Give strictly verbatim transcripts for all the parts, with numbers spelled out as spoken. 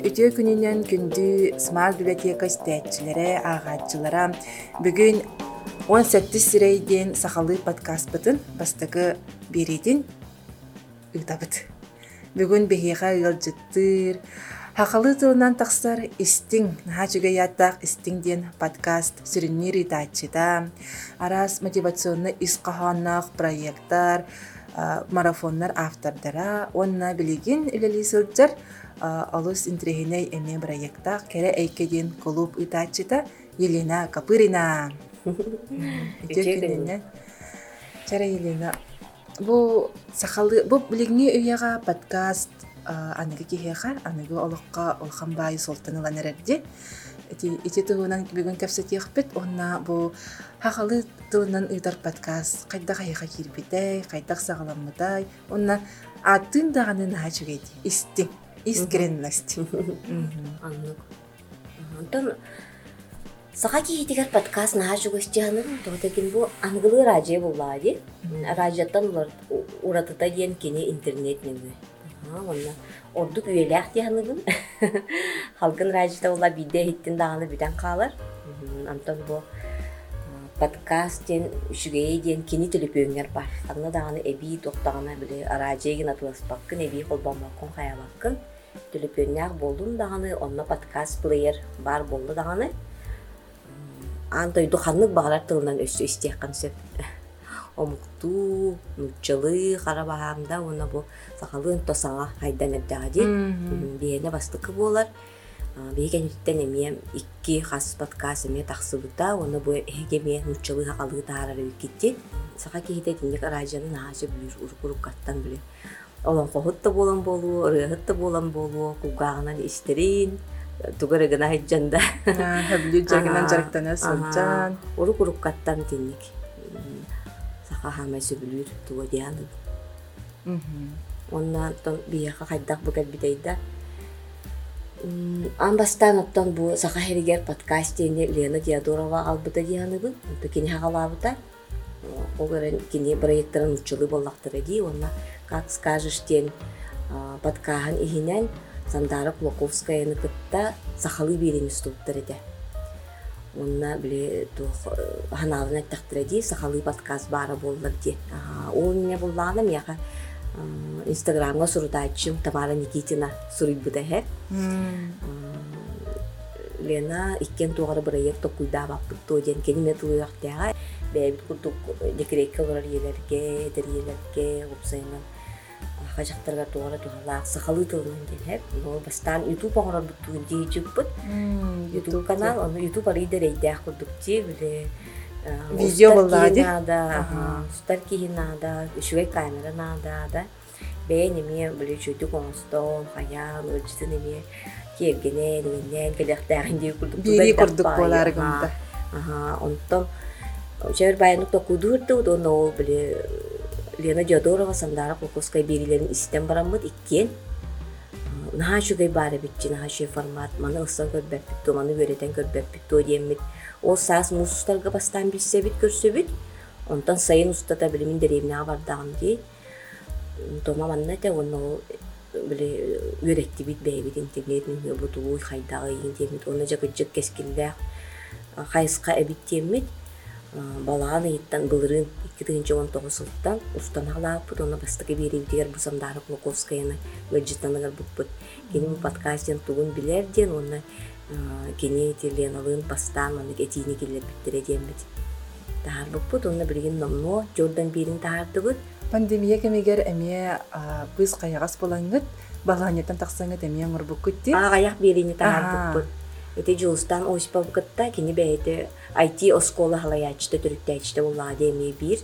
Үтө күнүнөн күндү Smart библиотека стәтчиләре, агачылара бүгүн он сетtis сирейден сахалы подкаст бытын бастагы беридин ыйтабыт. Бүгүн бехига ылжыттыр. Хакалы тылынан тахсар истиң нахачыга яттак истиң ден подкаст сүрүннөр итачыда. Арас мотивационный исқаханнах проекттар, марафоннар автордара, онна билигин үлели сылжар алус интрехиней эме проекта кере эйкедин клуб итачыда Елена Капырина. Итекенне. Чара Елена. Бу сахалы бу билигни уяга подкаст аныгы кихеха, аныгы олокка олхамбай солтанылан эрерди. Эти эти тугунан бүгүн кепсетиехпит, онна бу хахалы тылынан ыйтар подкаст кайда кайга кирбитэй, кайда сагаламмытай, онна атын даганы нахачугейди. Исти, искренность. Аннык. Антон сахаки хитигер подкаст нахачугустяны, тотегин бу ангылы радио буллади. Радиотан улар уратыта диен кини интернетнеги. Онна ордук үеләк дияныгын. Халкын радиода ула биде хиттин даганы бүтән калар. Антон бу подкастен үшүгей диен кини телепөңер бар. Аны даганы эби токтагына биле радиогын атылыспаккын, эби колбамаккын хаябаккын. Телепөңер болдун даганы, онна подкаст плеер бар болду даганы. Антой духаннык багалар тылынан өссө истеккан сөп. Омукту, нуччалы, карабаһамда, уна бу сахалын тосаңа хайдан эрдәди. Биене бастыкы болар. Бейгенеттен эме икки хас подкаст эме тахсыбыта, уна бу эгеме нуччалы хакалы таарары китти. Саха кихите тинник радионы нахачы бүр уркурук каттан биле. Олон кохутта болан болу, рыгытта болан болу, кугагынан истерин. Тугырыгына хайджанда. Хаблю жагынан жарыктана сылжан. Уркурук каттан тинник. Хама сөбүлүр туга дианы. Онна тон бияка кайдак букет битейда. Амбастан оттон бу саха херигер подкастене Лена Диадорова албыта дианы бу. Токини хагалабыта. Огорен кини проекттарын учулы боллактыр ди. Онна как скажешь тен подкахан ихинен Сандара Клоковская ныкытта сахалы берени ступтыр эте. Онна биле то ханалына тактыради сахалы подкаст бара боллар ди. Ол не булланым яка Инстаграмга сурутачым Тамара Никитина сурыйбыта хеп. Лена иккен тугары проект окуйда баппыт то ден кениме туяктага бэбит курдук декрекке олар елерге, дерелерге упсайнан хажактарга тугары тугалаак сахалы тылынан ден хеп. Но бастан YouTube оңорор буттугун дейжиппыт. YouTube канал, он YouTube лидер эйдэх курдукти биле видео боллади. Надо, старки надо, шугай камера надо, да. Бенеме биле чөтүк оңстон, хаян, ölçүнеме кергене, нен келектегин деп курдук. Бири курдук болар гында. Аха, онтон жер байнук токудурду, доно биле Лена Диадорова Сандара Клоковская берилерин истен барамыт иккен. Нахачугай бары битчи, нахачугай формат, маны ыстан көрбәппит, маны өретен көрбәппит, диеммит. Ол саас мусустарга бастан билсебит, көрсөбит. Онтан сайын устата билимин деревнега бардагым дей. Тома манна те оны биле өретти бит бейбит интернет мен бутуй хайдагы интернет, оны жакыжык кескилдек хайыска эбит диеммит. Баланы иттан былырын iki bin on dokuz сылттан устаналаппыт, оны бастыгы берибитигер бу Сандара Клоковскаяны өлжитаныгар буппыт. Кени бу подкастен тугун билерден, оны кени Леналын бастан, оны этини келер биттере дембит. Тахар буппыт, оны билген номно, жордан берин тахардыбыт. Пандемия кемегер эме быз каягас болаңыт, баланеттан тақсаңыт эме оңыр буккутти. Ағаяқ берини тахар буппыт. Эти жылстан ойспа букытта, кени бәйді ай ти оскола халаячты, түріктәчті олады эме бир.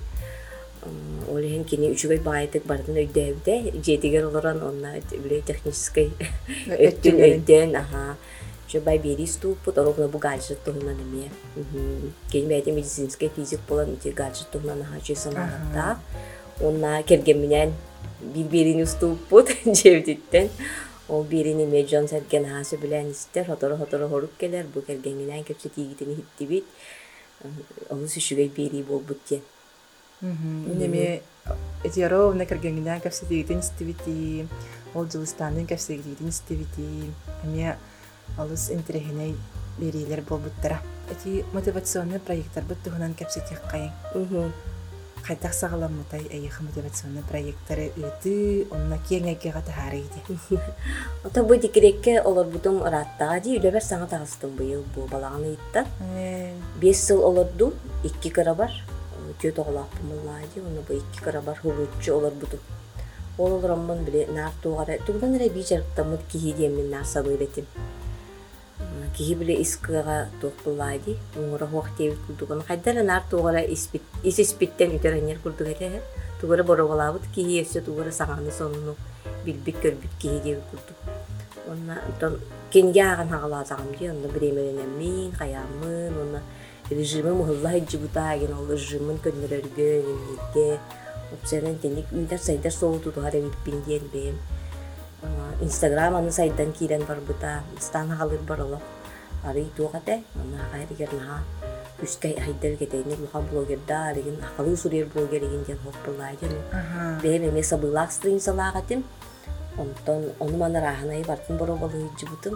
Олеген кени үчүгай байытык бардын өйдөбүдө жетигер олорон онна биле технический өттүн өйдөн аха жобай бери ступут орогно бу гаджет тонна неме кени бэйте медицинский физик болан ити гаджет тонна аха чесанада онна керген менен бир берини ступут жебдиттен ол берини меджон серген хасы билен истер хоторо хоторо хоруп келер бу керген менен кепсе тигитини хиттибит ол сүшүгай бери болбут те. Неме этиро на кыргынгына капситигитин стивити ол жылыстанын капситигитин стивити эме алыс интерехиней берилер болбуттара эти мотивационный проекттар буттугунан капситиккайын кайтак сагаламмытай эйих мотивационный проекттары үтү онна кеңеге катаарыйди Ота бу дикирекке олорбутум ыраттага ди үлебер саңа тагыстым быйыл бу балаганы иттан. беш жыл олордум, икки кыра бар. Төт оглаппымылла ди, оны бу икки кыра бар хулуччу олорбутум. Ол олороммун биле нар тугара, тугдан эре би жарыктамыт кихи демин нар сабыретим. Кихи биле искыга токпулла ди, уңура хоктебит курдугун. Кайдара нар тугара испит, ис испиттен үтеренер курдуг эте. Тугара боробалабыт кихи эсе тугара саганы сонуну билбит көрбүт кихи дебит курдуг. Онна тон кенге аган хагалатагым ди, онна биремененемин, каямын, онна режимы мыгылла жибутаген, ол режимын көннөрөргө, эмнеге, опсенен тенник үйдер сайдар сооту тугара билпин диен бем. Инстаграм аны сайдан кирен барбыта, стан хагалыр баралап. Ары тугате, онна кайрыгер наха үскай айдар кетейник луха блогерда, арыгын акылы сурер блогер еген ден хоппылайден. Бем эме сабылак стрин салагатым. Онтон оны мана раханай бартын боробалы жибутым.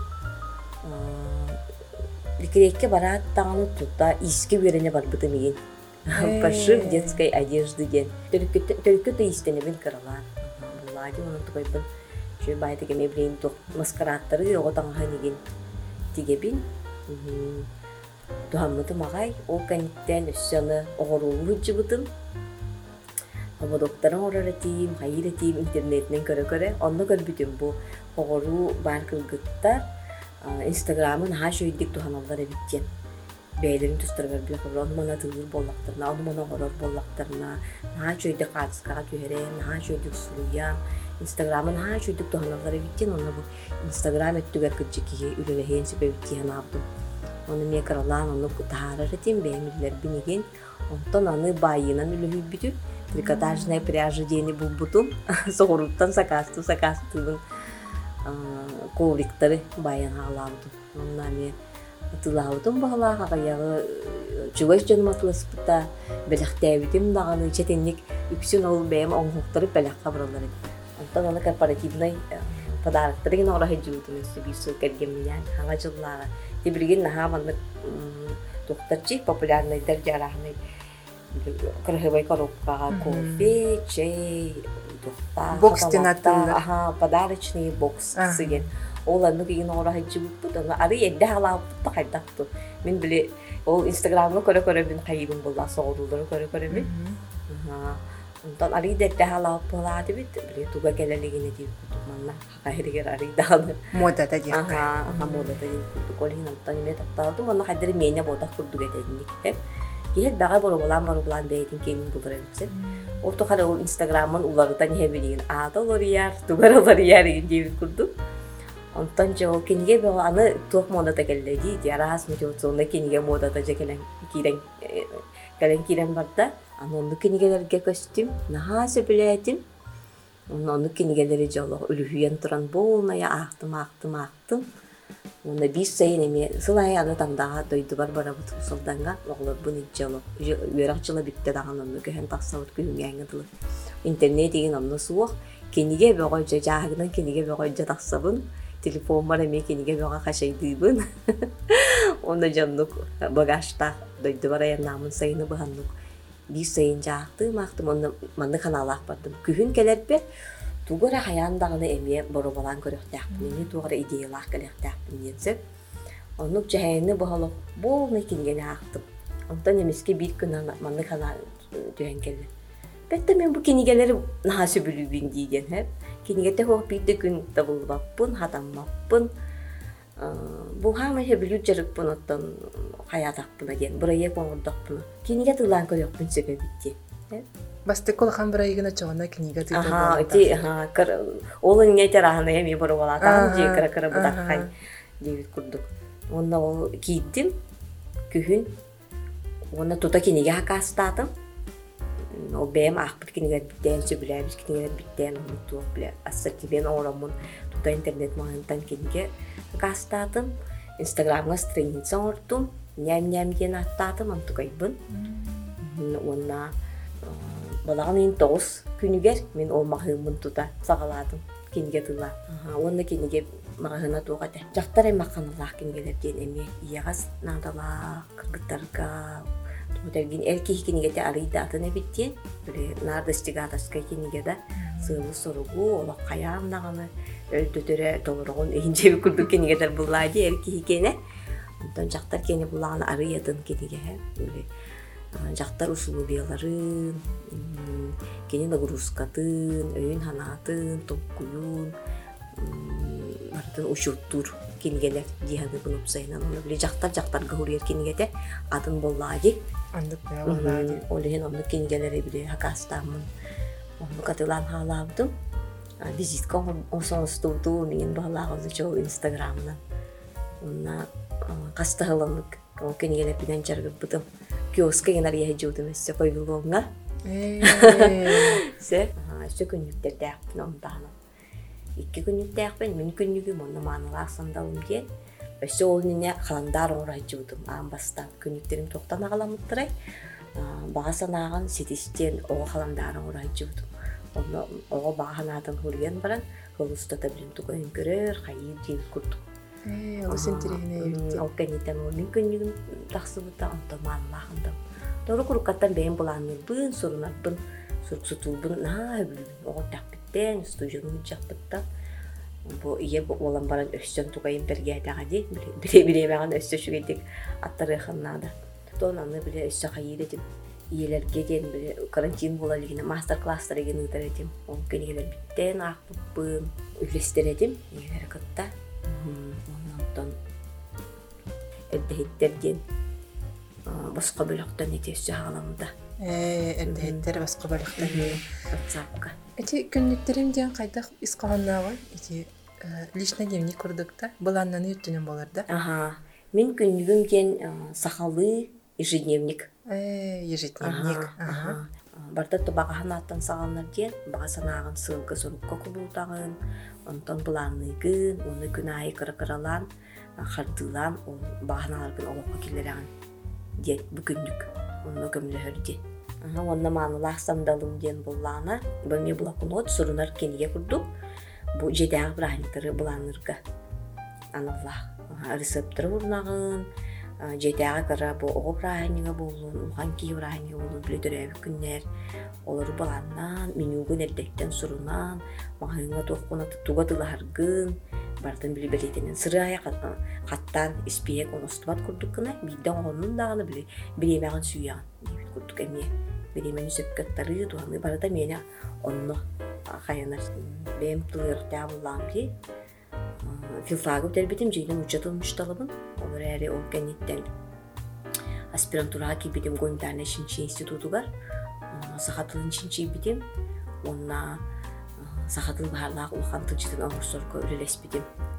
Ликерекке барат таңаны тутта иски берене барбытым еген. Пошив детской одежды ген. Төлкөтө истенебин кыралар. Буллади оны тугайбын. Şu bayta kemi bilin tok maskaratları yoga tangha nigin tigebin. Tuhamıtı magay o kanitten üssyanı oğurulu hıcıbıtın. Ama doktorun oraratayım, hayır eteyim internetinden köre köre. Onda görbütüm bu oğuru barkılgıttar. Instagram'ın ha şöydük tuhanalları bitken. Beylerin tüstürger bile kabul. Onu bana tığır bollaklarına, onu bana horor bollaklarına. Ha şöydük kaçıska kören, ha şöydük suluyan. Instagram'ın ha şöydük tuhanalları bitken. Onu bu Instagram ettüger kıcıkiye ülelehen sebebitki hanabdım. Onu miye karalan, onu taharar eteyim. Beğenirler binigin. Ondan anı bayınan ülehü bütü. Трикотажная пряжа дени булбутум. Соғыруттан сакасту, сакастудың ковриктары баян халаудым. Онна мен атылаудым бағалаға қаяғы жүгөш жаным атыласпыта бәліқтәбітім дағаны четенник үксін ол бәйім оңғықтырып бәліққа бұралары. Онтан оны корпоративный подарықтары ген орағы жүгітім өсі бейсі кәргемінен хаңа жыллаға. Дебірген наға маңды тоқтарчы популярныйдар жарағыны краховой коробка, кофе, чай, тухта, бокс тенаттылы. Ага, подарочный бокс сыген. Ол анны кеген орағы жібіп бұд, ары едді халап бұдты қайдақту. Мен біле, ол инстаграмға көрі-көрі бін қайыбын болда, соғылдылары көрі-көрі бін. Онтан ары едді халап болады біт, біле туға келелеген едей күдік манна. Қайрегер ары дағаны. Модата дейік. Ага, модата дейік күдік. Олеген антан еме тақталды, манна қайдары мене бодақ күрдік едейдік. Гел багай боробалан боробалан бейтин кемин булар этсе. Орто кара ол Инстаграмын улардан хебилин. Ада оларияр, тугар оларияр дебит курду. Онтан жо кенге бе аны ток модата келди. Диарас мөтөсөнө кенге модата жекелен кирен кален кирен барда. Аны кенгелерге костюм, нахасы билетим. Оны кенгелери жоло үлүхүен туран болмая актым актым актым. Оны бис сайын эме сылай аны таңдаға дойды бар бара бұтып сылданға оғылар бұны жалы үйерақ жылы бітті дағын оны көйін тақсауыт көйін әңгіділі. Интернет деген оны суық кенеге бөғой жа жағынан кенеге бөғой жа тақсабын телефон бар эме кенеге бөға қашайдыйбын. Оны жанлық бағашта дойды бар аян намын сайыны бұғанлық бис сайын жақтым ақтым оны манны қаналақ бардым. Көйін келер бер тугора хаяндагыны эме боробалан көрөктәкпин, эме тугора идеялар келектәкпин дисеп. Онук жайны бохолоп, болны кингене актып. Онтан эмеске бир күн манны кана төһен келди. Бетте мен бу кинигелери нахасы бүлүбүн диген хеп. Кинигете хок бир күн табылбаппын, хатаммаппын. Бу хама хе бүлүп жарыппын оттан хаятакпын деген. Бурая коңурдакпын. Киниге тылан көрөкпүн себебитти. Басты колхан брайгына чоғана книга тыйды болата. Ага, эти, ага, олын нейтерағына еме бұры болатағын, же кіра-кіра бұдаққай дейбіт күрдік. Онна ол кейдім, күйін, онна тута кенеге хақастатым. Ол бәйім ақпыт кенегер біттен, сөбіләбіз кенегер біттен, ұмыттуық біле. Ассатибен орамын тута интернет мағантан кенеге хақастатым. Инстаграмға страница ортым, ням-ням ген аттатым, антықайбын. Онна балаган ин тоғыз күнүгер мен ол махымын тута сагаладым кинге тыла. Онна кинге махына тугата. Жактар эмаканалах кингелер ден эме иягас надала кыргыттарга Мутергин элки кинигете арыйда атыны биттен, биле нардыстыгадаска кинигеда сылы соргу ола каяам наганы өлдөтөрө толоргон энжеби курдук кинигетер буллайды элки кене. Онтон жактар кени буллаганы арыйатын киниге, биле жактар усулу бияларын, кени нагрузкатын, өйүн ханатын, топкуюн, бартын ушуттур кинигелер дияды булуп сайынан. Биле жактар жактарга хурьер кинигете атын буллайды. Андык боллады. Олehen onu kingelere bile hakastamın. Onu katılan halabdım. Vizit o son studu min bağlağı çoğu Instagram'dan. Ona kastahalanlık o kingelere bilen çargıbdım. Kioska yener yehcudum esse koyulunga. Se, işte günlükte dağıttın ondan. İki günlük dağıttın, min günlüküm onu manılar sandalım diye. Işte oğlunun kalandar uğrayıcıydım. Ambastan günlüklerim toktan ağalamıttıray. Bağısan ağan setişten oğa kalandarın uğrayıcıydım. Onu oğa bağanadan huriyen baran. Holusta da bilim tukayın görür, hayır değil kurduk. Eee, o sen tirihine yürüttü. O kenitten oğlunun günlüküm taqsı bıta ondan mağınlağındım. Doğru kurukattan beyin bulanırbın, sorunarbın, surksutulbun. Na, oğa takbitten, stüdyonun çakbıttan. Bu iya bu olan baran östön tukayın bergeydağı değil. Bile bile meğen östö şügedik attarı xannada. Donanı bile östö hayır edim. İyelerge den bile karantin bulaligine master classlara gene ıdar edim. O genigeler bitten akbıbbın. Üllester edim. İyeleri kıtta. Ondan öddehitlerden başka bölükten etesi ağlamda. Eee, öddehitler başka bölükten. WhatsApp'ka. Эти күннүктерим ден кайдах искаганнага эти личный дневник курдукта баланнаны үттүнөн боларда. Ага. Мен күннүгүм ден сахалы ежедневник. Э, ежедневник. Ага. Барда табагаханаттан саганнар ден бага санагын сылгы сорукка кубултагын, онтон буланныгын, оны күнайы кыркыралан, хардылан, ол баганаларгын олокко килерагын ден бу күннүк. Оны көмлөһөрдү. Онна манылах сандалым ден буллана, бөме блокнот сурунар кенге курдук. Бу жедагы брахниктары буланырга. Аналлах рецепттер урнагын, жедагы кара бу ого брахнига болун, ухан ки брахнига болун билдиребик күннер. Олар буланнан, менюгун эрдектен сурунан, махыңга токкуна туга тыларгын, бартын били белетенен сырая каттан испиек оностубат курдук кына, биден онун даганы били билемегин сүйягын. Дебит курдук эмне. Беремен сөпкеттары дуаны барда мені онны қайынар бәйім тұлырда болам ке. Филфагы өтербетім жейден ұчатылмышталыбын. Олар әрі ол кәнеттен аспирантураға кебедім Гойнтарна Шинчи институтугар. Сақатылын Шинчи бедім. Онна сақатыл бағарлағы ұлған тұнчытын аңырсорға өлелес бедім.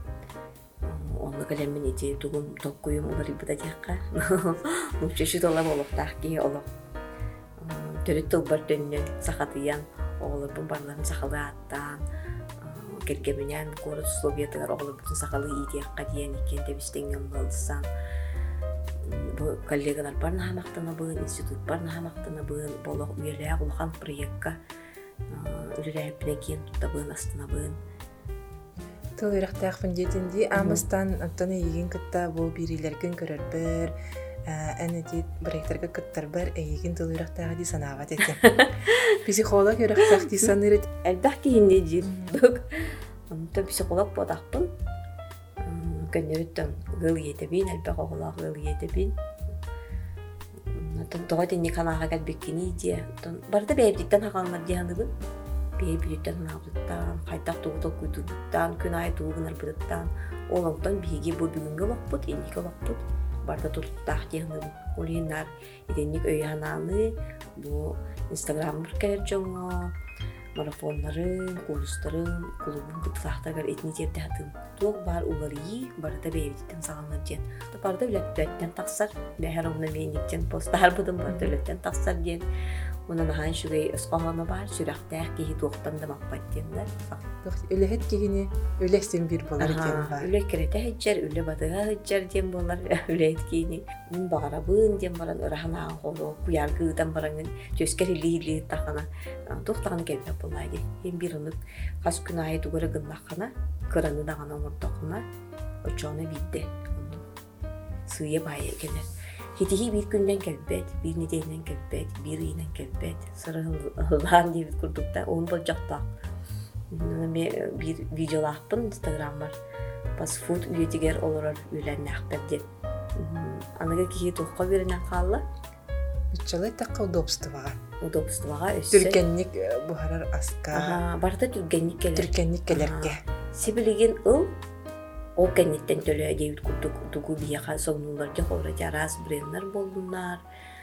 Онны кәлеммен ете тұғым тоққойым олар бұда деққа. Мұпшешу толам олықтақ ке олық. Төрөт тылбар төннен сахатыян оғылырбын барларын сахалы аттан кергеменен город условиятыгар оғылырбын сахалы идеяққа дейін екен тебістенген болдысан. Бұл коллегалар барна хамақтана бұын, институт барна хамақтана бұын, болық үйелі ұлған проектқа үлілі әпінекен тұтта бұын астына бұын. Тыл ирақтақпын детінді, амыстан аттаны еген кітта бұл берилерген көрір бір, әне дейт проекттарға кыттар бар, әйеген тыл ирақтағы дей санағат етем. Психолог ирақтақ дей саныр ет. Әлбәқ кейінде дейдік. Онта психолог бодақпын. Көннеріттен ғыл етебін, әлбәқ оғылақ ғыл етебін. Тоға денне канаға кәлбеккені де. Барды бәйбдіктен хақалмар дейаныбын. Бәйбдіктен хақалмар, қайтақ туғытық күйтудықтан, күн ай туғынар бұдықтан. Олыңтан бейге бұл бүгінгі лақпыт, ендігі лақпыт. Барда тұлттақ дейаныбын. Ол ендар еденнік өйхананы, бұл Инстаграм бүркәлер жоңа, марафонларын, курстарын, клубын бұтылақтағар етіне терді атым. Тоқ бар уларыйы, барда бәйбдіктен сағанлар ден. Барда үләттен тақсар, бәйхар оңна мейніктен постар бұдым, барда үләттен тақсар ден. Мына нахан шугай өскоһоно бар, сүрәхтәк киһи туохтан да маппаттендар. Үлэһет кигини үлэхсен бир болар экен бар. Үле керете хеджер, үле батыга хеджер дем болар, үлэт кини. Мин багарабын дем баран ыраханаа холо, куяргыдан барангын төскер хили-хили тахана. Туохтаганы келбеп болайды. Ем бир онук кас күн айы тугары гыннахана, кыраны дагана омуртокуна, очоны бидде. Сыя байы келер. Хитихи bir günden kelbet, bir nedeninden kelbet, bir inen kelbet. Sırılan diye kurduk da onu bolacakta. Bir videolahpın Instagram var. Bas food üyetiger olarak üylenle akbet. Anaga ki tohka birine kallı. Bütçalı takka udobstavağa. Udobstavağa össe. Türkenlik buharar aska. Aha, barda türkenlik gelir. Türkenlik gelerke. Sibiligin ıl. O kennetten töle deyip kurduk dugu biyaha sonunlarca horaca ras brenler bolunlar,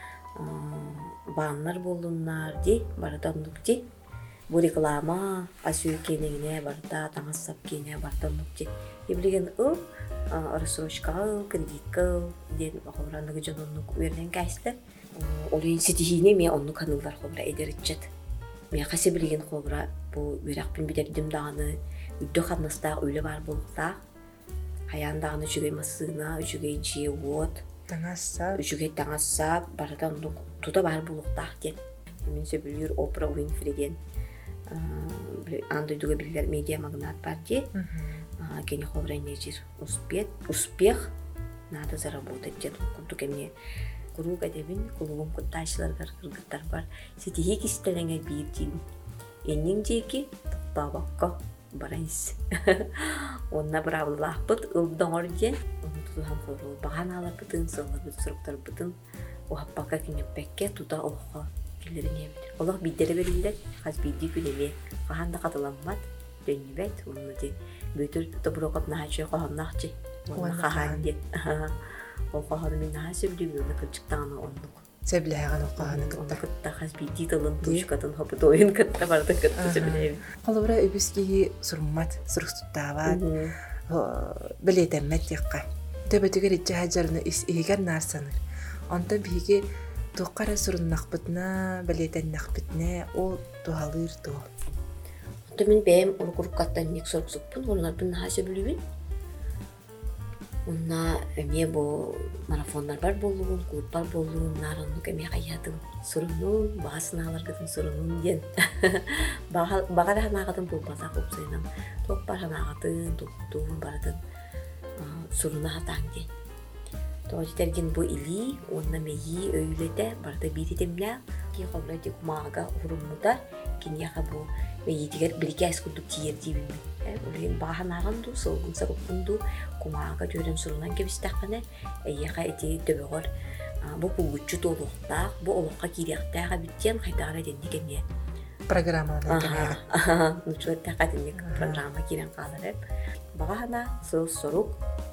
banlar bolunlar di baratanlık di. Bu reklama asıyor kenine barda tanıssap kene baratanlık di. Ibligen o arasroşka kredika den horanlık canonluk verilen kaçtı. Olayın sitihine mi onu kanıllar hobra ederitçet. Mi kasibligen hobra bu verakpin biderdim dağını üddü kanısta öyle var bolukta. Hayandağını üçüge masına, üçüge içiye vod. Tanassa. Üçüge tanassa, baradan tuta var buluqtaq den. Min söbülür Oprah Winfrey'den. Andı duga bilgiler media magnat var de. Keni xobra necir успех, успех надо заработать den. Kuntu kemne kuruq edebin, kulubum kuttaşlar var, kırgıtlar var. Setihi kistelenge bir din. Enning jeki babakka барайс. Онна бравлахпыт ылдаңор ден. Оны тутухан хору. Бағаналар бытын, сылар быт, сұрықтар бытын. Оғаппака кенеппекке тута оға келерін емдер. Олақ биддері берілдер. Қаз бидді күнеме. Қағанда қатыламмат. Дөннебет. Оны де бөтір тұбырақып нағачы қоғаннақчы. Оны қаған ден. Ол қоғаны мен наға сөбілі оны кілчіктағаны онлық. Сөбіләйған оқағаны кітті. кітті. Кітті қаз бидді тылын тұшқатын хопыт ойын кітті барды кітті сөбілейін. Қалыбыра өбіскеге сұрмат, сұрықтықтават, білетеммет яққа. Төбетігер етчі хәджарыны егер нарсаныр. Онта біге тұққара сұрыннақ бітіна, білетеннақ бітіне, ол туғалыр туғ. Онта мен бәйім ол құрыққаттан нек сұрықсықпын, олар бұн наға сөбілуін. Онна әме бұл марафондар бар болуын, клуб бар болуын, нарынлық әме қаядың сұрынуын, бағасын алар кетін сұрынуын ден. Бағар ханағатын бұл базақ ұпсайынан, тоқ бар ханағатын, тоқтуын бардың сұрына атаң ден. Тоғытерген бұл илі, онна мейі өйлеті барды бейдетемля, ке қобрайты құмаға ұрыммыдар, кенеға бұл мейетігер бірге әскүлдік тиер дейбілмін. Олайын баған ағанду, сылғын сарықпынду, құмаға жөрен сұрынан кебістаққаны, әйеға әтей төбеғыр. Бұл бұлғытшы толуқтақ, бұл олыққа керектіға біттен қайтағыра деннекене. Программаны кенеға. Нүчуеттіға деннек программа керен қалар әп. Бағана сыл сұрық,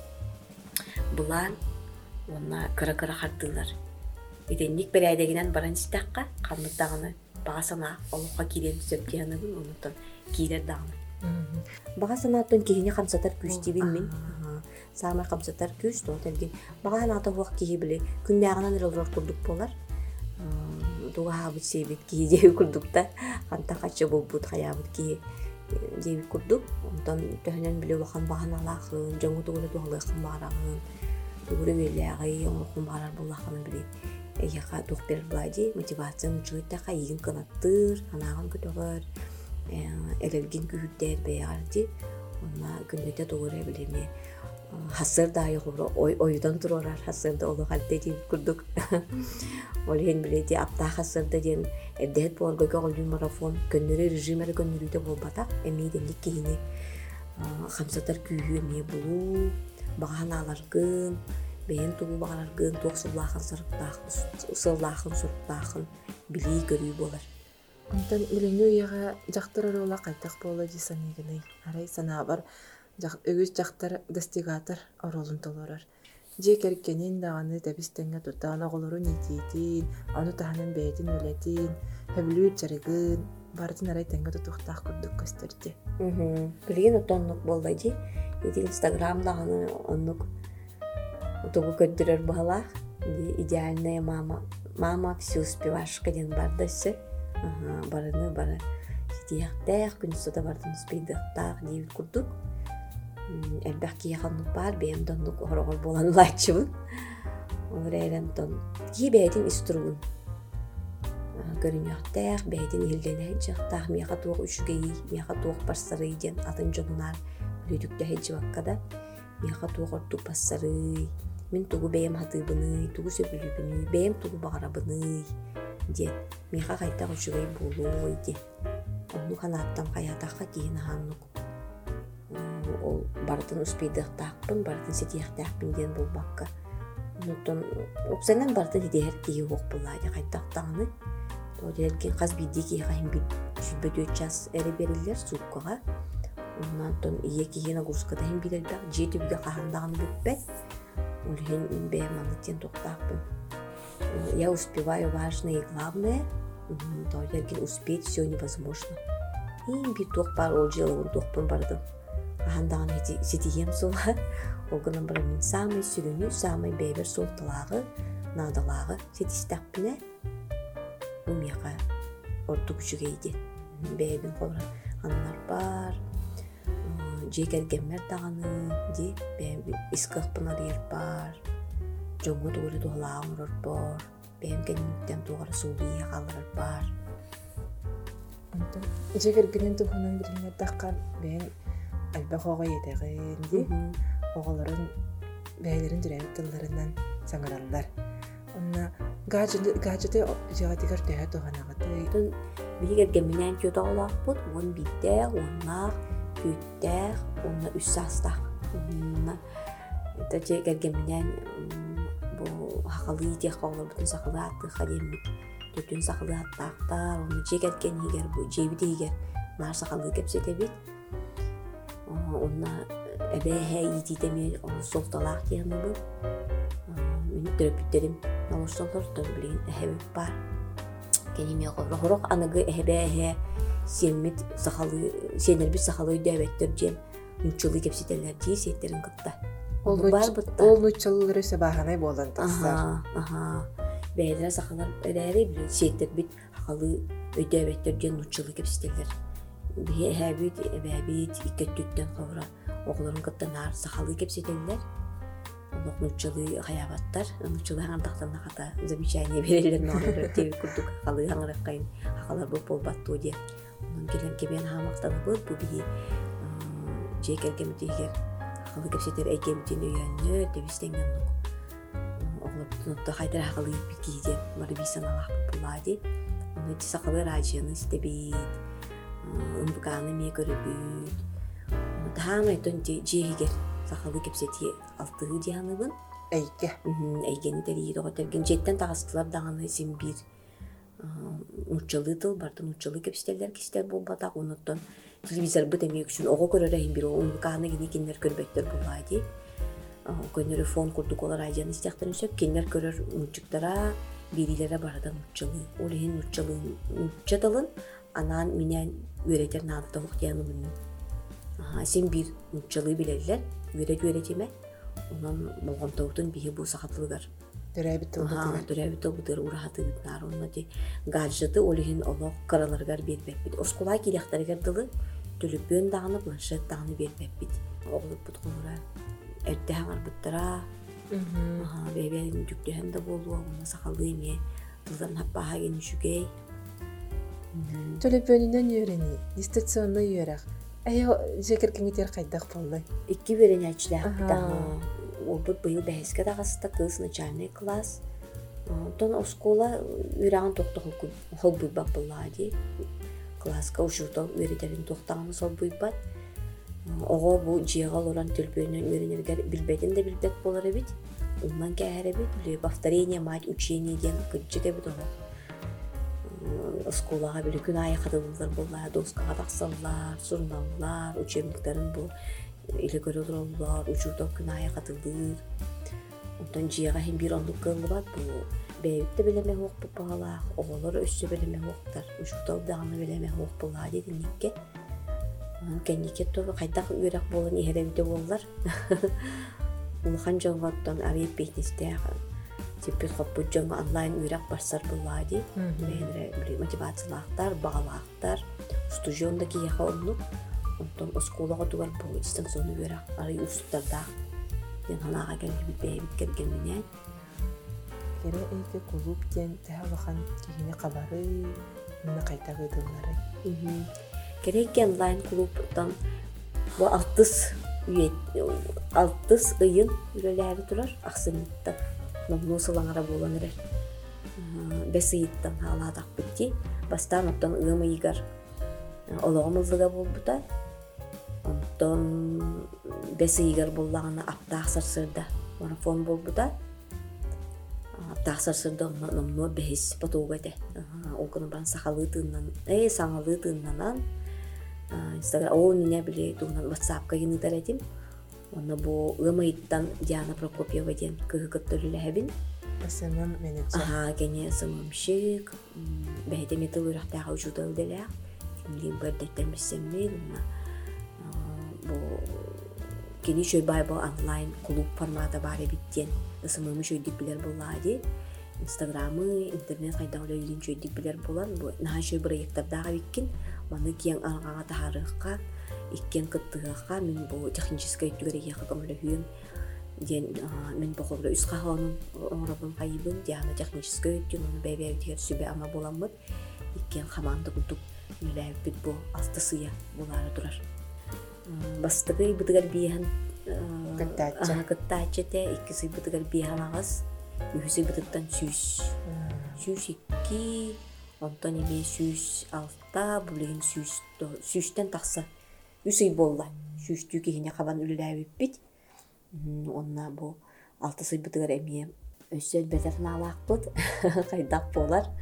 бұлан, онна кыра-кыра қардылар. Еденнек бір әйдегінен баран істаққа, қамыттағыны бағасына олыққа керен сөптеғанығын, онытын керер дағыны. Баға санаттың кейіне қамсатар күш дейбін. Сағымай қамсатар күш, тоғытелген. Баға санаттың уақ кейі біле, күнде ағынан үрілдір күрдік болар. Дуға ғабыт сейбет кейі дейбі күрдікта. Қанта қатшы бұл бұд қаябыт кейі дейбі күрдік. Онтан төхінен біле уақын баған алақын, жаңы тұғылы туғалықын бағарағын, тұғыры өліғай, оңықын бағарар болақыны біле. Әйеға тұқ берір бұлайды, мотивацияны жұйттаға егін қанаттыр, анағын күтіғыр. Элерген күйттер бәйәрді, онна күндеті тоғыры білеме хасыр дайы ғұры, ойдан тұрарар хасырды олы қалды дейіп күрдік. Олеген біледі, апта хасырды ден әрдәет боларғыға ғылды марафон, көннері режимері көннеріде болбатақ, әмейденлік кейіне қамсатар күйі не болу, баған аларғын, бәйін тұғу бағарарғын, тоқ сыллақын сұрықтақын білей көрі болар. Онтан үліңі үйеға жақтырар ола қайтақ болы дейсан егіні. Арай сана бар өгіз жақтар достигатор оролын толырар. Же керкенен дағаны тәбістенге тұттағына қолыру нетейтін, оны тағанын бәйтін өлетін, хөбілі үтчарығын, бардың арай тәңгі тұтуқтақ күрдік көстерді. Білген отонлық болды, еті инстаграмдағаны онлық ұтығы көттірер бағалақ, идеальная мама. Мама все успевашка ден бардасы. Aha, barını bara sitiyaqtaq күнүстө бардын спейдактак дебит курдук. Элбэх кияханнук бар, бэм доннук орогор болан лачыбын. Олар эремтон ки бэдин истурун. Көрүнөктәк бэдин иллене жактак мияка тук үчүгей, мияка тук барсары ден атын жонунар үлүдүктө хеҗибаккада. Мияка тук ортук бассары. Мен тугу бэм хатыбыны, тугу сөбүлүбүнү, бэм тугу багарабыны ден. Мияка кайта үчүгей болуу ди. Onu kanattan kayataqqa кейін ханнук. Ол бардын успейдықтақпын, бардын сетияқтақпын ден бұл баққа. Онуттан оқсанан бардын идеер тегі оқ бұлайды қайттақтағыны. Тодерген қаз бидді кейқайын бит жүлбет өтчас әрі берілер суққаға. Оннан ие кейіна ғұрсқадайын білелбәқ, жеті бүге қағандағын бүтпәт. Олген бәйманлықтен тоқтақпын. Я успеваю важное и главное. Тодерген успеть все невозможно. И bir туқ бар, ол жылы туқпын бардым. Қағандағын сетием сола. Олғынан бір мен самый сүріні, самый бәйбір солтылағы, надылағы сетистақпіне. Умеға орты күшігейді. Бәйбін қолырын анлар бар. Жекергенмер дағаны, де бәйбін искақпын арыр бар. Жоңғы туғыры туғылағын ұрыр бар. Бәйбін кәніміктен туғыры солуия қалырыр бар. Жегергенен тухунан билине таққан бен албақ оға етеғенде оғаларын бәйлерін жүрәйіп тылларынан саңыралар. Онна гаджеты жағатығар тәйі тұғанағыты. Білгергенменен көті олақ бұд, он биттәқ, онлақ, көттәқ, онна үс састақ. Жегергенменен бұл хақалы етеқ олар бұтын сақылы атты қадемік. Төтін сақылы аттақтар, оны жегерген егер бұл, жейбіде егер нар сақылы кепсете бет. Онна әбәйхә ететеме солталақ дегені бұл. Мені түріпіттерім налошсалар тұр білген әхәбіп бар. Кәнеме ғорақ анығы әбәйхә сенмет сақылы, сенербет сақылы өйдәбеттір жем нүтчілі кепсетелер дей сеттерін қытта. Ол нүтчілері сөбағанай болан тастар. Аха. Бәйдері сақалар әрәрі білі сеттер бит хақалы өйдәбеттер ден ұтчылы кепсетелер. Әбәбет, әбәбет, иккеттүттен қауыра оғыларын қыттанар сақалы кепсетелер. Олық ұтчылы қаябаттар, ұтчылы аңырдақтан нақата замечание берелерін оғыры тегі күрдік хақалы аңырық қайын хақалар бұл болбатты өде. Оның келен кебен хамақтаны бұл, бұл бейі жек әргемді егер хақалы кепсетер әйгемден өйәнні дебістенген ұқ. Нотто хайдар хақалы кейден бары бейсан алақ бұлады. Оны өте сақалы ражияны істебейд. Үмбіғаны ме көрібейд. Тағам әйтон жегер сақалы кепсеті алтығы дияны бұн. Әйге. Әйгені дәрейді оғытырген. Жеттен тағыстылар дағаны сен бір ұтчылы тыл бардың ұтчылы кепсетелер кестер бұл батақ. Оныттон телевизор бұд әмек үшін оғы көрір әйін бір үмбіғаны гене кендер көрбеттер бұлады. Көнері фон күрдік олар айжаны істіқтарын сөп, кендер көрір мүнчіктара, берилері барадан мүнчілі. Ол ең мүнчілі мүнчетілін, анан менен өретер надыда ұқтияны мүнін. Сен бір мүнчілі білелер, өрет өретеме, онан болған тауытын бейі бұл сақатылығар. Дүрәбіті ұлғытығар. Дүрәбіті ұлғытығар, ұрағаты бұтынар. Оны де гаджеты ол ең олық қараларғар бербәппет. Осқолай келектарығар дылы, түліппен дағыны, планшет дағыны бербәппет. Оғылып бұтқылыра. Әрдәң арбыттара, бәйбәлін жүктіген де болуы, оны сақалы еме, тылдан хаппаға кені жүгей. Төліпөнінен үйрені, дистанционны үйерақ. Әйі жекергенетер қайдақ болды? Икі берен әчіләқ бұтағы. Ол бұд бұйыл бәйеске дағасыда қыз начальный класс. Тон оскола үйраған тоқты қол бұйбақ болады. Класска ұшыртау үйретерін тоқтағаны сол бұйбат. Оға бұл жиғал оран төлпөйінен үйренергер білбәден де білбәт болар әбет. Ондан кәр әбет, повторение, мать, учение ден күнчік әбет оға. Сколаға білі күн айы қадылылар болар, доскаға тақсалылар, сұрналылар, учебниктарын бұл, илі көрі тұралылар, учурдау күн айы қадылылар. Ондан жиға хем бір ондық қылы бат, бұл бәйікті білеме оқ бұл бағалақ, оғалар өсі білеме оқтар, учурдау дағаны білеме оқ болар дедін неке. Кәнекет тобы қайтақ үйрек болын ехеребіде болылар. Улхан жоңғаттан арайып бейтнесте типпет хоппут жаңа онлайн үйрәк барсар буллади. Бәйнере били мотивациялаактар, багалаактар, студионда кияха оннук. Онтон осколага тугар бу дистанционный үйрәк ары устарда. Ен ханага келбит бәйбит кергенменен. Кере эйке клуб тен тәһәләхан кигене кабары, мына кайта гыдыллары. Керек онлайн клубтан бу алтыс үйет, алтыс ыйын үлеләре турар, аксыныттан. Номну сылаңара болан эрер. Бес ыйыттан халадак битти. Бастан оттан ыйым ыйгар ологомылдыга болбута. Онтон бес ыйгар боллагана аптаак сарсырда марафон болбута. Аптаак сарсырда номну бес потугате. Окуну бан сахалы тыннан, э саңалы тыннанан Инстаграм ол мине биле тугунан WhatsApp-ка генитар этим. Онна бу ымыйттан Диана Прокопьева ден кыгыттырылэбин. Асымым менеджер. Ага, кене сымымшык. Бәйте метал үрәктәгә учутал делә. Кимли бәрдәттән бисемме. Бу кене шөй бай бу онлайн клуб форматы бар биттен. Сымымы шөй диплер булады. Инстаграмы, интернет кайдагы үлен шөй диплер булан. Бу наһа шөй проекттарда биккин. Маны киң аргага тахарыкка, иккен кыттыгакка мен бу технический түгәргә хакымлыгын ден мен бу хобда үс каханын орабын кайбын диана технический түгәргә бәйбәй тигәр сүбе ама буламмыт. Иккен команда кутуп миләп бит бу астысыя булары турар. Бастыгы битгәр биһән Кыттача. Ага, кыттача те иккиси битгәр биһән агас. Үһүсе битыктан сүз. Сүз икки Онтон еме сүз алта, бүлеген сүзтен тақса. Үсей болла. Сүзтүү кегіне қабан үліләй өппет. Онна бұл алты сый бұтығыр әме өсел бәтәрін алақ бұд. Қайдақ болар.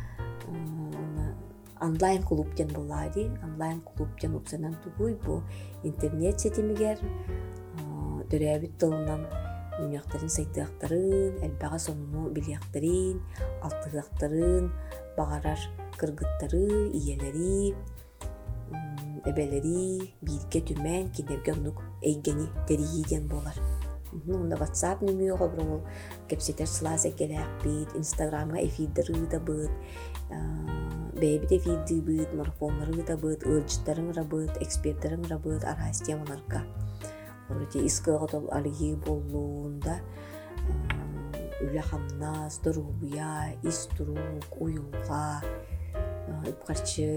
Онлайн клубтен болады. Онлайн клубтен ұпсанан тұғой бұл интернет сетімігер. Дөрәбіт тылынан Үмяқтарын сайтыақтарын, әлбәға сонуну білияқтарын, алтығақтарын, бағарар кыргыттары, иелері, әбәлері, бирге түмән, кенерге онук әйгені тәрейден болар. Онда WhatsApp нөміе қобырың ол кәпсетер сылас әкеләк бейд, Инстаграмға эфирдері да бұд, бәйбіт эфирді бұд, марафонлары да бұд, өлжіттарын рабыд, эксперттерін рабыд, архайс темаларға. Орыте искығытыл алығы болуында үлі қамнас, дұрубия, иструк, уюлға, үпқарчы,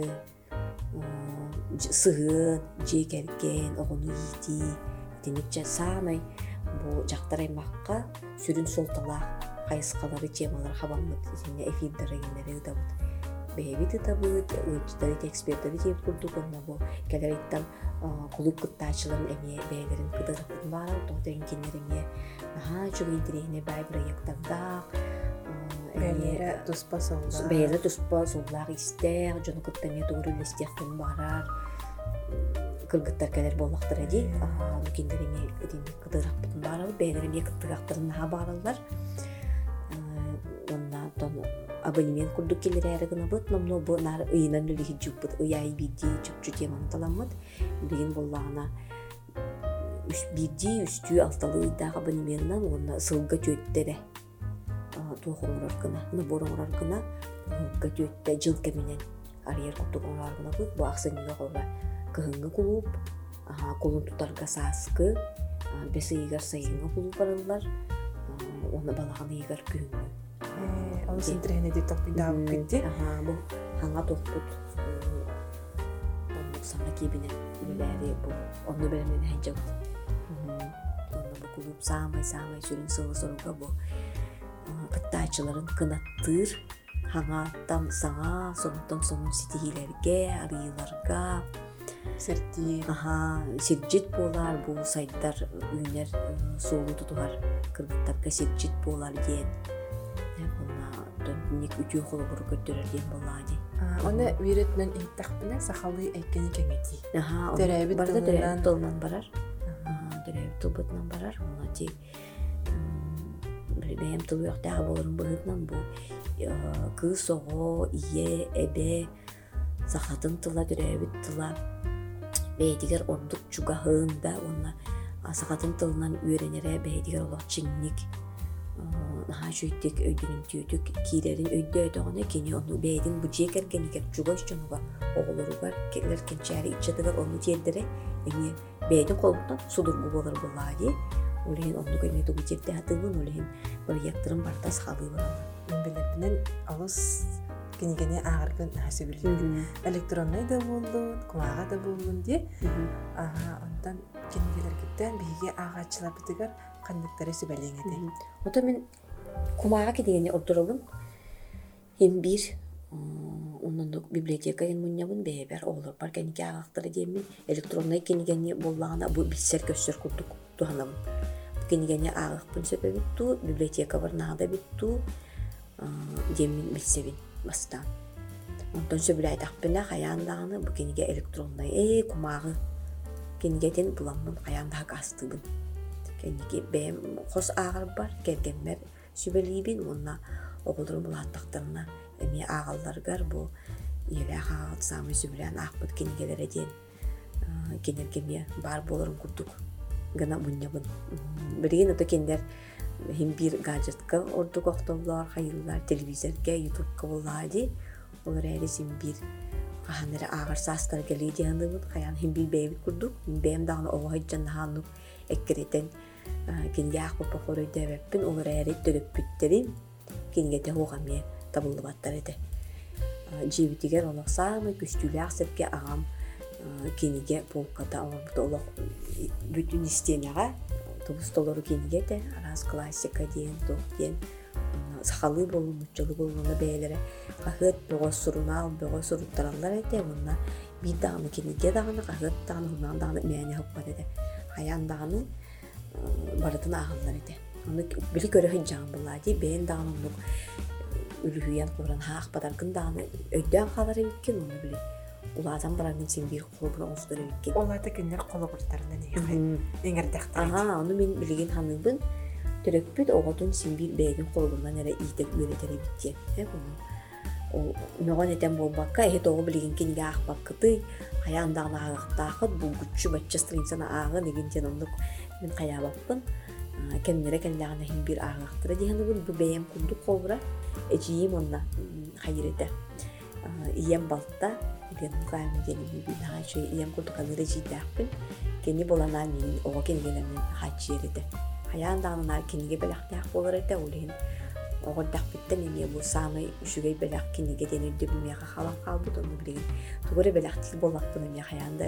сығын, жекерген, оғыны еті, демекче самай бұл жақтар аймаққа сүрін солталақ қайысқалары темалар қабамыд, эфирдері генері ұдабыд. Бәйбіті табыд, өтчітері, эксперттері теп күрдік, онна бұл кәлереттен клуб кыттачыларын әме бәйлерін кыдырықпын барал, тоғдарын кенеріне наға жүгі интерегіне бәй проекттардақ, Бәйлері тұспа соллақ. Бәйлері тұспа соллақ істер, жоны кыттане тұғырын істектен барар, кыргыттар кәлер болақтыр әде, кенеріне кыдырықпын барал, бәйлеріне кыттырақтарын наға баралар, онна тоны абонемент курдук келер әрігіна бұд, номно бұ нар ұйынан үлігі жүк бұд, ұяй биді жүк-жү теманы таламыд. Білген болағына биді үсті алталы ұйдағы абонементнан онна сылға төттері туғын ұрарқына, набор ұрарқына сылға төтті жыл кәменен арьер құттық ұрарқына бұд. Бұ ақсаныға қолға кығынғы құлып, қолын тұтарға сасқы, бәсі егер сайынға құлып барылар, оны балағаны егер күйіңгі. Ол синтрехне де топпидау кетти. Ага, бу ханга топпут. Онда саңа кебине үлеләре бу. Онда белемен хәнҗә бу. Онда бу клуб самай-самай сүрен сылы-сылыга бу. Кыттачыларын кынаттыр. Ханга там саңа, сонтон сонун ситигилерге, арыйларга. Серти. Ага, сирджит болар бу сайттар үйнер соолу тутугар. Кыргыттарга сирджит болар ден. Ник үтүү холу буру көттөрөрден болады. Оны үйретнен иттақпына сақалы әйкені кәңети. Дөрәбіт тылынан барар. Дөрәбіт тылбытынан барар. Оны тек бәйім тылы өқтәғі болырын бұғытнан бұл кыз оғы, ие, әбе, сақатын тыла, дөрәбіт тыла. Бәйдігер ордық чуғағында, оны сақатын тылынан үйренері бәйдігер олық чыңник naha şüytük öydünün tüydük kilerin öydü öydüğüne kini onu beydin bu ceker geni gel çugoş çonuga oğulları var keller kençeri içedeler onu cerdere emi beydin kolundan sudur bu bolar bulladı olehin onu gene de bu cerde hatırın olehin böyle yaktırım bartas halı var Билебинен алыс кини-кини ағаргын хасы билген. Электронный да болдун, кумага да болдун ди. Ага, ондан кинигелер киттен биге агачылар битигер кандыктары сибелеңеди. Ото мен кумага кидегени ордоробун. Hem bir ondan da biblioteka yen munyabın beber olur par kenike agактары демен электронный кинигени боллагана бу билсер көстөр курдук туhanam. Кинигени агакпын себеби ту библиотека барнада битту. Демин билсебин бастан. Онтон сөбүлө айтакпына каяндаганы бу кениге электронный э кумагы кенигетен буламмын каяндагы астыбын. Кениге бем кос агыр бар келгенмер сөбөлүбүн муна оголдор булаттактарына эми агалларгар бу эле агат самы сөбүлөн акпыт кенигелере ден кенергеме бар болорун курдук. Гана муннябын. Билген ото кендер hem bir gadgetka ordu qoqtollar, hayırlar, televizorga, YouTube-ga boladi. Olar resim bir qahanlara ağır sastar gelidi hanımın qayan hem bir bebi kurduk. Benim dağını oğaycan hanım ekkereten kinge aqpa qoru deveppin olar eret dölüp bitterim. Kingete hoğamye tabullu battar ede. Jibitiger olaq samı güçlü aqsepke ağam kinge polkata olaq olaq bütün istenaga Тубустолору кенигете арас классика диен тох диен сахалы болун муччалы болуна бээлере кахыт бөгөс сурунал бөгөс суруттаралар эте мунна бир дагы кениге дагы кахыт дагы хунан дагы мэне хоппат эте хаян дагы барытын агаллар эте аны били көрө хыжан буллади бен дагы муну үлүхүян куран хаак бадаргын дагы өйдөн калар экен уну били улаазан баранын сен бир колбуна офтор экен Оларда кинер коло буртарынан эген. Эңердактар. Ага, аны мен билген ханыбын төрөкпүт оготун сен бир бэйдин колбунан эре ийдек үйрөтөрө битти. Э буну. Ол ногон этен болбакка э тогу билген кинге акпаккыты аяндагы агактакы бу күчү баччастырынсана агы деген жен ондук мен каябаппын. Кемнере кендагы хим бир агактыры дегенбин бу бэйем кундук колбура эжиим онна хайрете. Ием балта Gen kayın geni bir daha şey iyem kurtukanı rejidakpın. Geni bolanan min o geni gelemin haciride. Hayandağınar keniге belaktak bolar ete ulehin. O dak bitten ene bu samı şugay belak keniге denildi bilmeye kalan kalbut onu bilin. Tugore belaktik bolakpın ene hayanda.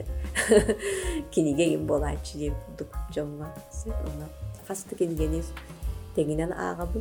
Keniге gem bolayçı diye kurduk jonga. Sen ona fastı kenigeniz teginen ağabın.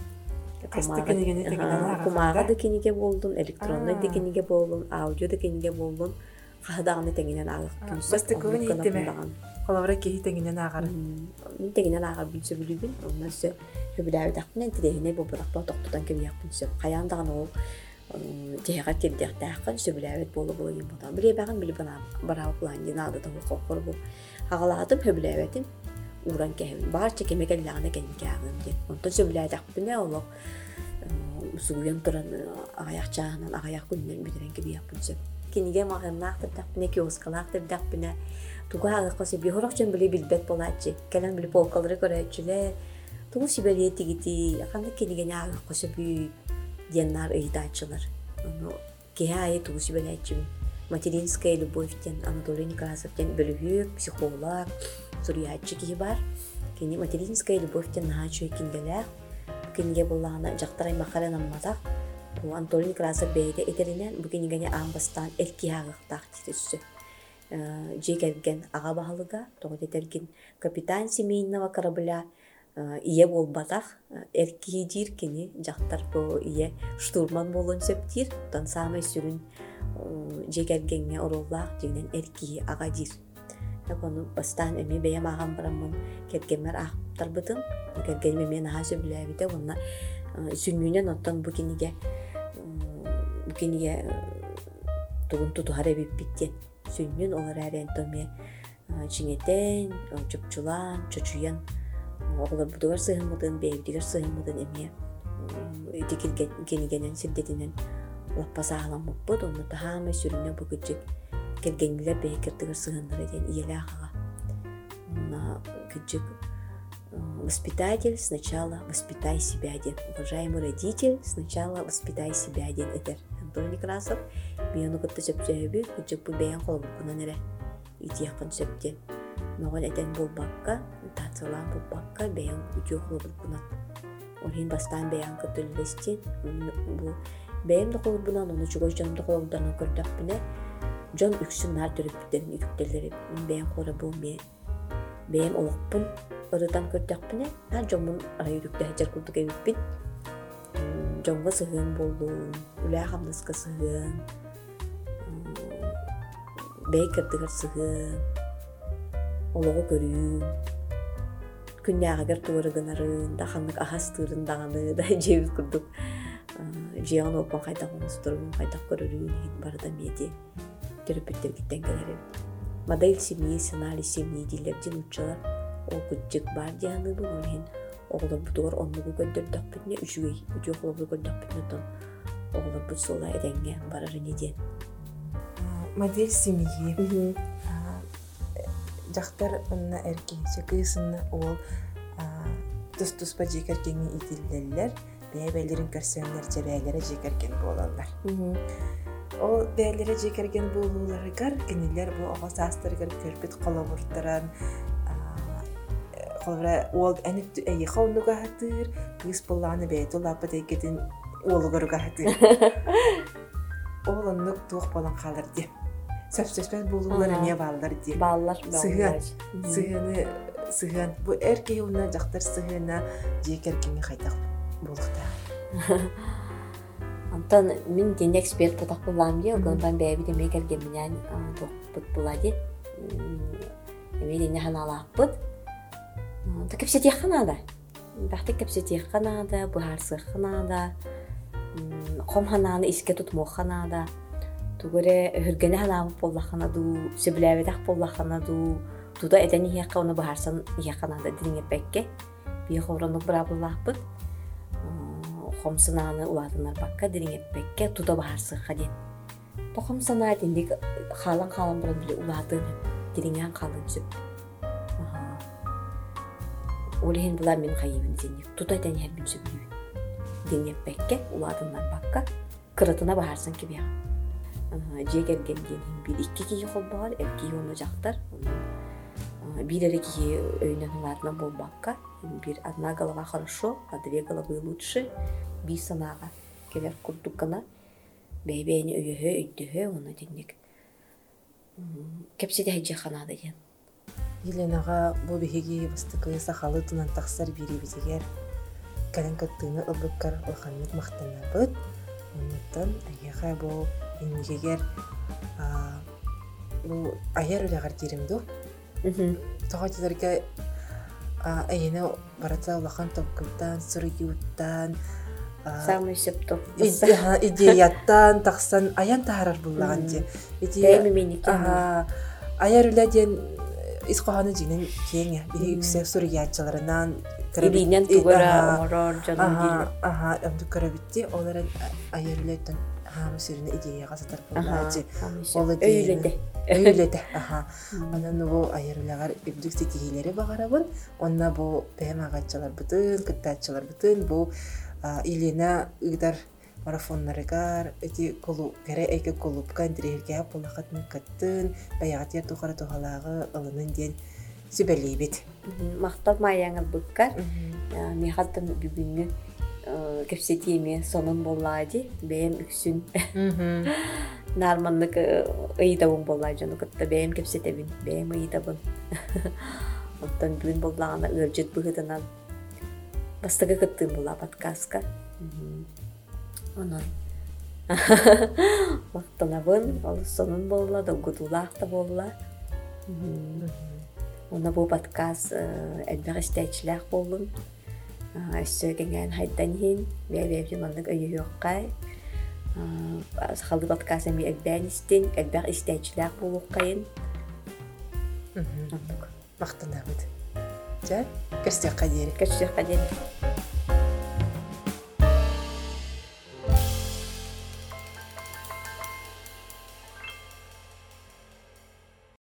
Kumaga da keniге болдун, электронный да кениге болдун, аудио да кениге болдун. Кахдагыны тегинен агып күнсөп. Басты көбүн иттеме. Колобра ки тегинен агар. Мен тегинен агар билсе билибин. Оннасы хөбүләр дакмен тедене бу бирак токтотан кем япынсы. Каяндагын ол жега теддек дакын сөбүләр болу болу бодан. Биле багын биле бана бара план динады да кокор бу. Агалатым хөбүләбетим. Уран кем барча кемегелләрне кенге агым ди. Онтон сөбүләр дакпыне олок Suguyan turan agak cahanan agak kunden bidiren gibi yapınca. Kiniге mağırnaqtır daqbine kioskalartır daqbine. Tugu agak qası bir horaqcan bile bilbet bolatçı. Kalan bile polkaları görətçüle. Tugu sibeliyeti giti. Aqanda kiniге ne agak qası bir diyenler ıydaçılar. Kihaya tugu sibeliyetçi. Materinskaya Любовьтен, Анатолий Некрасовтен бөлігүйік, психолог, сурiyatçı kihi бар. Kini Materinskaya Любовьтен nahaçı kindeler. Kiniге болағына жақтарай мақаран аммадақ. Bu Anatoliy Nekrasov beyde eterinen bu kinigene ambastan elki hağıqtaq titüssü. Jegergen ağa bahalıga, toğut etergin kapitan Семейного корабля iye bolbataq. Erki dir kini jaqtar bu iye штурман болон söptir. Tan samay sürün jegergenge orollaq degenen erki ağa dir. Onu bastan emi beyem ağam baramın kergemer ağıptar bıdın. Kergemer men ağa söbüləbide ona sünnünen ottan bu kinige bu kinige tuğun tutuhar ebip bitten. Sünnün olar əren töme çiŋeten, çöpçulan, çöçüyen oğlar budugar sığınmadın, beyevdigar sığınmadın emi dikil kinigenen siddetinen lappa sağlamıp bud. Onu tahamay sürüne bu gıcık kergengiler beykirdigar sığınlar eden iyeli ağağa. Ona gıcık Воспитатель сначала воспитай себя ден. Уважаемый родитель сначала воспитай себя ден. Этер Антон Некрасов бияну кытта сөпсөбү күчөппү бэйэн колбуккуна нере итияхпын сөптен. Ногон этен болбакка, тацылан болбакка бэйэн күчө колбуккуна. Орхин бастан бэйэн кытыллестен. Бэйэн да колбунан оны чугош жанымда колбуданан көрдөкпүнэ. Жон үксүн нар төрөппүттерин үктелери. Бэйэн кора бу ме. Бэйэн олокпун ырытан көрдөкпүнэ. Ан жомун арайүрүктө хачар курдук эбиппин. Жонга сыгын болду. Үлэ хамныска сыгын. Бэй кырдыгар сыгын. Олого көрүүн. Күннягагар туурыгынарын, да ханнык ахас тыырын даганы, да жебит курдук. Жиягын опан кайтак онустурун, кайтак көрөрүүн барда меди. Терапевттер киттен келери. Модель семьи, сценарий семьи дилердин учалар. Ол күтчек бар дияны бұл олен. Оғылар бұтығар онлығы көндірдіқпетіне үшігей, үтіе қолабы көндірдіқпетіне тон. Оғылар бұт солай әдәңге барары неден. Модель семьи. Жақтар онына әркенші күйісіні ол тұс-тұспа жекеркені итілделер. Бәйбәлерін көрсөнлер жебәлері жекеркен болалар. Ол бәйлері жекерген болулары қар, кенелер бұл оға састырғыр көрпет қолабырттаран, қолабыра ол әніпті әйі қауынуға хатыр, күйіс болағаны бәйті олапы дәйгетін олығыруға хатыр. Ол онлық туық болан қалыр де. Сөп-сөспен болулары не балылар де. Балылар, балылар. Сығыны, сығын. Бұл әркей олына жақтар сығына жекеркені қайтақ болықта. Антон, мен ден эксперт потақ болам де, оғылдан бәйбі деме келген менен бұт болады. Еме дене ханалақ бұд. Та кепсетек қанада. Бақты кепсетек қанада, бұхарсы қанада, қом хананы иске тұтму қанада. Тугуре хүргені ханамы болла қанаду, сөбіләбедақ болла қанаду. Туда әдәні еққа оны бұхарсан еққанада диріңе бәкке. Бейі қоғырынық бұра боллақ бұд. Қомсынаны уладынар баққа диріңе бәкке туда бұхарсыққа ден. Та қомсына дендік қалан-қалан бұрын білі уладын диріңен қалын сөп. Олеген бұлар мен қайыбын зенек. Туда әдәні әрбін сөбілуін. Диріңе бәкке уладынар баққа кырытына бұхарсын кебеға. Жегерген денің бір икки кейі қол бағар, әркей оны жақтар. Bir әрі кейі өйнен ұларына бол баққа. Bir одна голова хорошо, а две головы лучше. Bir санаға келер күрдіккіна. Бәйбәйіні өйі өйдігі, оны денек. Кепседе әйже қанады ден. Еленаға бұл бігеге бастықы сақалы тұнан тақсар бері бізегер. Кәлін көттіғіні ұлбыққар ұлғанлық мақтана бұд. Оннаттан әйеға бұл енмегегер бұл аяр өліғар деремді. Тоғатыларға әйені баратса ұлақан топкылдан, сұрыйуыттан, Самый септоп. Идеяттан, тақсан аян тағарар бұллаған де. Бәймі менекен. Аяр өләден исқоғаны жинен кеңе. Бейі үксе сұрыйатчыларынан Иринен тугара оңорор жанын дейін. Аха, әмді көрәбітте, олар аяр өләден хамы сөріне идеяға сатар бұллағы. Өйледі. Өйледі. Онан бұл аяр өләғар үбдікті кейлері бағарабын. Онна бұл бәйім ағатчылар бұтын, күттатчылар бұтын, бұл Елена ыгдар марафоннарыгар, эти колу, гәрі әйкі колупка, әндірерге болақатыны каттын, баяғат ер тұқара тұғалағы ылының ден сөбәлей бет. Мақтал майяңыр бұққар, меғаттым бүгінгі кәпсетеме сонын болады, бәйім үксін. Нарманлық ұйдауын болады, жоны күтті бәйім кәпсетебін, бәйім ұйдабын. Оттан бүгін болағына үржет бұғыдынан Бастығы күттің бұла подкастқа. Онын. Вақтына бұн, ол сонын болла, доғыдулақ та болла. Оны бұл подкаст әлбәқ істәйчіләқ болын. Сөйгенген хайдан хин, бәй-бәйбен онық өйі өққай. Қалды подкаст әмі әлбән істен, әлбәқ істәйчіләқ болуқ қайын. Вақтына бұд. Жа, көрсек қадері. Көрсек қадері.